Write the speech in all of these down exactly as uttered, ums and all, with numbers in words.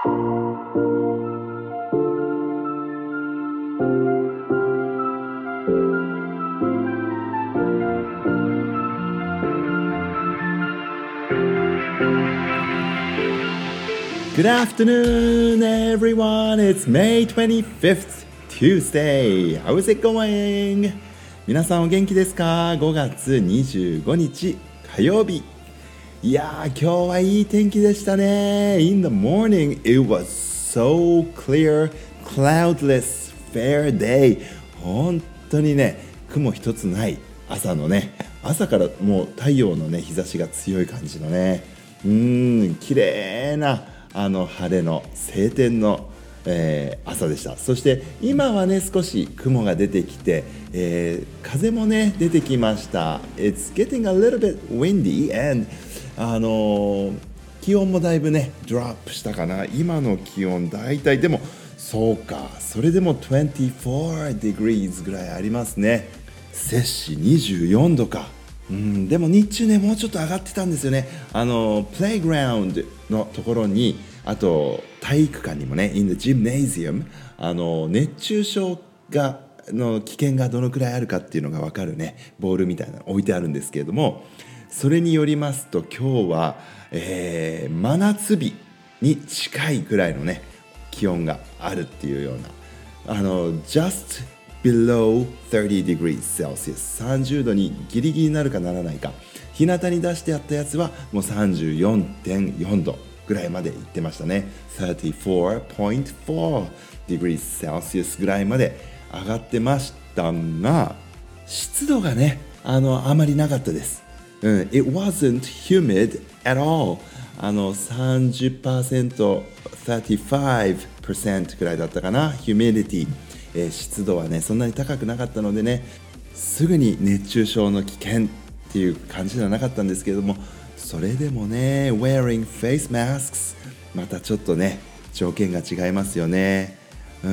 Good afternoon, everyone. It's May twenty-fifth, Tuesday. How's it going? 皆さんお元気ですか？ごがつにじゅうごにち火曜日。いやー、今日はいい天気でしたね。In the morning, it was so clear, cloudless, fair day. 本当にね、雲一つない朝のね、朝からもう太陽のね、日差しが強い感じのね、うーん、綺麗なあの晴れの晴天の、えー、朝でした。そして今はね少し雲が出てきて、えー、風もね出てきました。 It's getting a little bit windy and あのー、気温もだいぶねドロップしたかな。今の気温だいたいでもそうかそれでもにじゅうよん degrees ぐらいありますね。摂氏にじゅうよんどか。うん、でも日中ねもうちょっと上がってたんですよね。あのプレイグラウンドのところに、あと体育館にもね in the gymnasium あの熱中症がの危険がどのくらいあるかっていうのが分かるねボールみたいなの置いてあるんですけれども、それによりますと今日は、えー、真夏日に近いくらいのね気温があるっていうような、あの just below thirty degrees Celsius さんじゅうどにギリギリになるかならないか、日向に出してやったやつはもう さんじゅうよんてんよんどぐらいまで行ってましたね。さんじゅうよんてんよん degrees Celsius ぐらいまで上がってましたが、湿度がねあのあまりなかったです、うん、It wasn't humid at all。 あの さんじゅっパーセント さんじゅうごパーセント くらいだったかな、 humidity、えー、湿度はねそんなに高くなかったのでね、すぐに熱中症の危険っていう感じではなかったんですけれども、それでもね wearing face masks またちょっとね条件が違いますよね。うん、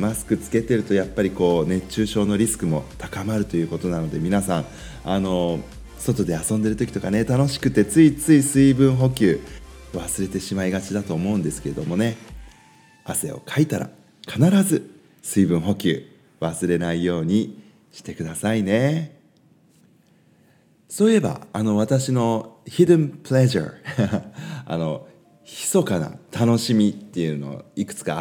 マスクつけてるとやっぱりこう熱中症のリスクも高まるということなので、皆さんあの外で遊んでる時とかね楽しくてついつい水分補給忘れてしまいがちだと思うんですけれどもね、汗をかいたら必ず水分補給忘れないようにしてくださいね。そういえばあの私の hidden pleasure あの密かな楽しみっていうのいくつかあって、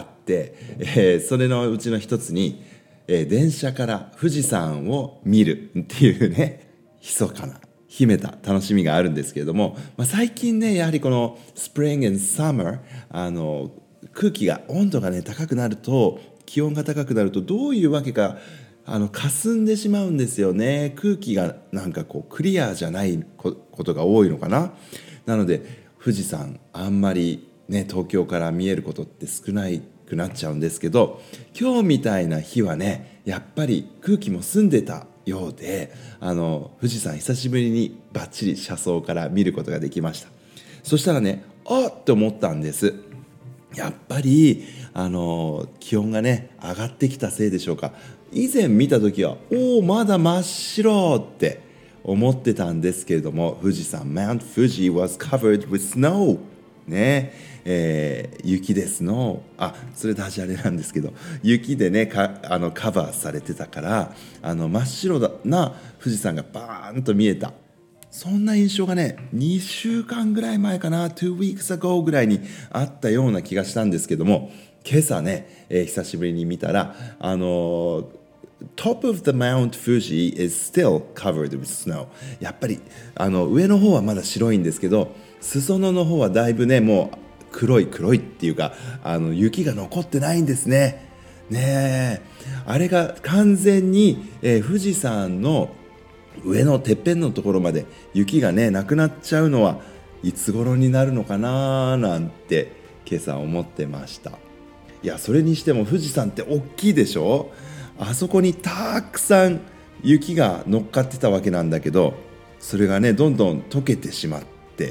えー、それのうちの一つに、えー、電車から富士山を見るっていうね密かな秘めた楽しみがあるんですけれども、まあ、最近ねやはりこの Spring and Summer あの空気が温度がね高くなると、気温が高くなるとどういうわけかあの霞んでしまうんですよね。空気がなんかこうクリアじゃないことが多いのかな。なので富士山あんまりね東京から見えることって少ないくなっちゃうんですけど、今日みたいな日はねやっぱり空気も澄んでたようで、あの富士山久しぶりにバッチリ車窓から見ることができました。そしたらねあっと思ったんです。やっぱりあの気温がね上がってきたせいでしょうか。以前見た時はおおまだ真っ白って思ってたんですけれども、富士山 Mount Fuji was covered with snow ね、えー、雪でスノー、あそれダジャレなんですけど、雪でねかあのカバーされてたからあの真っ白な富士山がバーンと見えた、そんな印象がねにしゅうかんぐらい前かな two weeks ago ぐらいにあったような気がしたんですけども、今朝ね、えー、久しぶりに見たらあのー、Top of the Mount Fuji is still covered with snow。 やっぱりあの上の方はまだ白いんですけど、裾野の方はだいぶねもう黒い黒いっていうかあの雪が残ってないんですね。ねえあれが完全に、えー、富士山の上のてっぺんのところまで雪がねなくなっちゃうのはいつ頃になるのかななんて今朝思ってました。いやそれにしても富士山って大きいでしょ。あそこにたくさん雪が乗っかってたわけなんだけど、それがねどんどん溶けてしまって、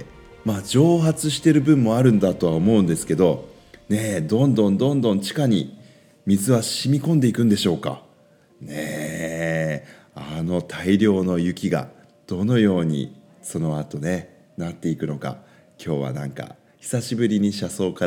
まあ蒸発してる分もあるんだとは思うんですけどね、どんどんどんどん地下に水は染み込んでいくんでしょうかね。えあの大量の雪がどのようにその後ねなっていくのか、今日はなんか久しぶりに車窓から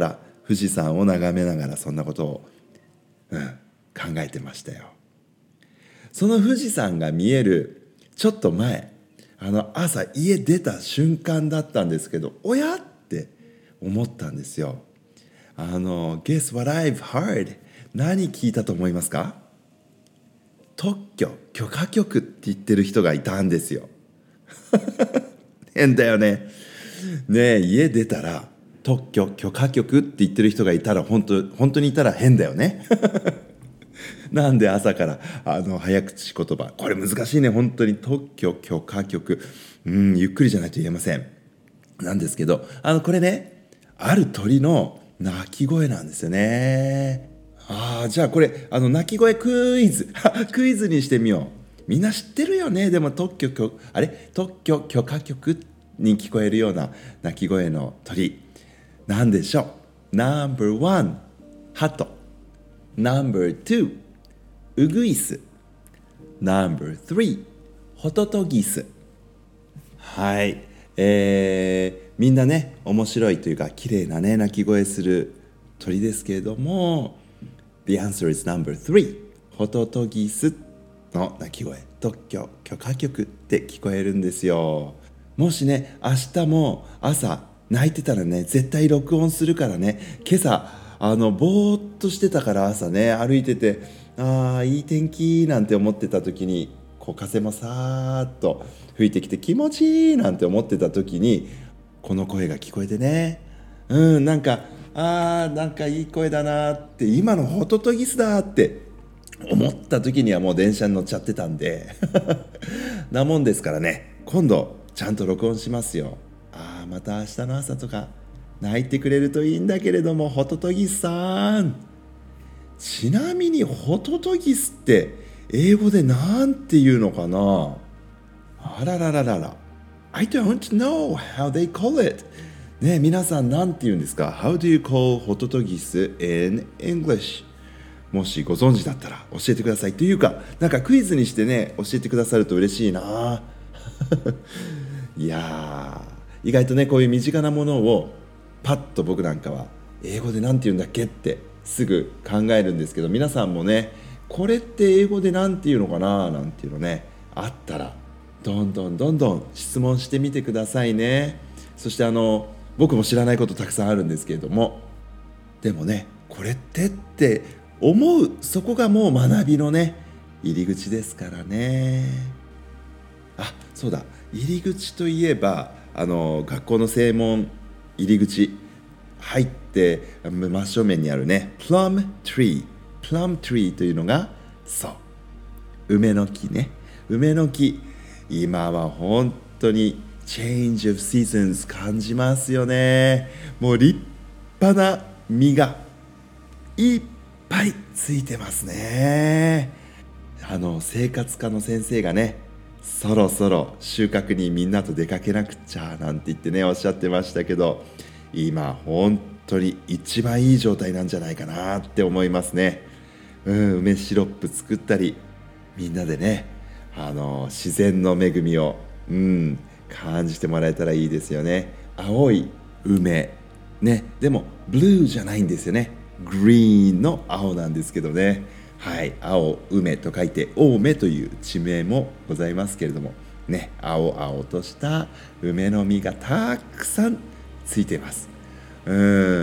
富士山を眺めながらそんなことを、うん、考えてましたよ。その富士山が見えるちょっと前、あの朝家出た瞬間だったんですけど、おやって思ったんですよ。あの Guess what I've heard? 何聞いたと思いますか？特許許可局って言ってる人がいたんですよ。変だよね。ねえ、家出たら特許許可局って言ってる人がいたら本当本当にいたら変だよね。なんで朝からあの早口言葉、これ難しいね本当に。特許許可局、うんゆっくりじゃないと言えません。なんですけど、あのこれね、ある鳥の鳴き声なんですよね。ああ、じゃあこれあの鳴き声クイズクイズにしてみよう。みんな知ってるよね。でも特許許あれ特許許可局に聞こえるような鳴き声の鳥なんでしょう。ナンバーワン、ハト。ナンバーツー、ウグイス。ナンバースリー、ホトトギス。はい、えー、みんなね面白いというか綺麗なね鳴き声する鳥ですけれども、The answer is number three、 ホトトギスの鳴き声、特許許可局って聞こえるんですよ。もしね明日も朝泣いてたらね絶対録音するからね。今朝あのぼーっとしてたから朝ね歩いてて、ああいい天気なんて思ってた時に、こう風もさーっと吹いてきて気持ちいいなんて思ってた時にこの声が聞こえてね、うんなんかあーなんかいい声だなって、今のホトトギスだって思った時にはもう電車に乗っちゃってたんでなもんですからね、今度ちゃんと録音しますよ。ああまた明日の朝とか泣いてくれるといいんだけれども、ホトトギスさん。ちなみにホトトギスって英語でなんて言うのかな。あららららら I don't know how they call it。ね、皆さんなんて言うんですか？ How do you call ホトトギス in English？ もしご存知だったら教えてください。というか、なんかクイズにしてね教えてくださると嬉しいな。いやー、意外とねこういう身近なものをパッと僕なんかは英語でなんて言うんだっけってすぐ考えるんですけど、皆さんもねこれって英語でなんて言うのかななんていうのねあったらどんどんどんどん質問してみてくださいね。そしてあの僕も知らないことたくさんあるんですけれども、でもねこれってって思う、そこがもう学びのね入り口ですからね。あ、そうだ、入り口といえばあの学校の正門入り口入って真正面にあるねプラムトリー、プラムトリーというのがそう梅の木ね。梅の木、今は本当にChange of Seasons 感じますよね。もう立派な実がいっぱいついてますね。あの生活科の先生がねそろそろ収穫にみんなと出かけなくちゃなんて言ってねおっしゃってましたけど、今本当に一番いい状態なんじゃないかなって思いますね。うん、梅シロップ作ったりみんなでねあの自然の恵みを、うん、感じてもらえたらいいですよね。青い梅ね、でもブルーじゃないんですよね。グリーンの青なんですけどね。はい、青梅と書いて青梅という地名もございますけれどもね、青々とした梅の実がたくさんついています。うん、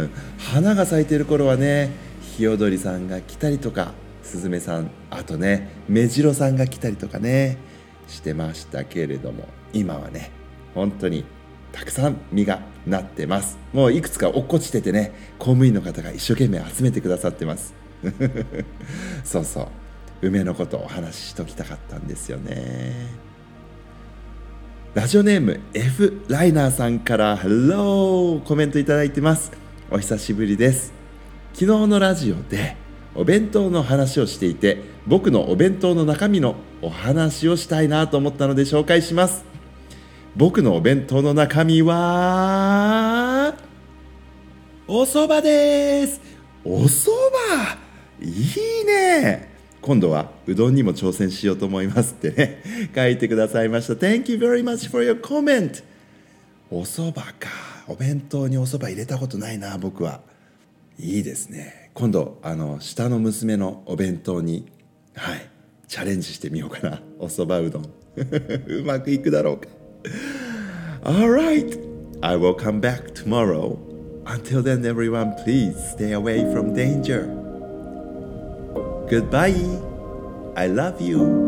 花が咲いている頃はねヒヨドリさんが来たりとかスズメさん、あとねメジロさんが来たりとかねしてましたけれども、今はね本当にたくさん実がなってます。もういくつか落っこちててね公務員の方が一生懸命集めてくださってますそうそう、梅のことをお話ししときたかったんですよね。ラジオネーム F ライナーさんから Hello コメントいただいてます。お久しぶりです。昨日のラジオでお弁当の話をしていて、僕のお弁当の中身のお話をしたいなと思ったので紹介します。僕のお弁当の中身はお蕎麦です。お蕎麦いいね。今度はうどんにも挑戦しようと思いますってね書いてくださいました。 Thank you very much for your comment。 お蕎麦か、お弁当にお蕎麦入れたことないな僕は。 いいですね。今度あの下の娘のお弁当に、はい、チャレンジしてみようかな。おそばうどんうまくいくだろうか。 Alright, I will come back tomorrow. Until then, everyone, please stay away from danger. Goodbye. I love you.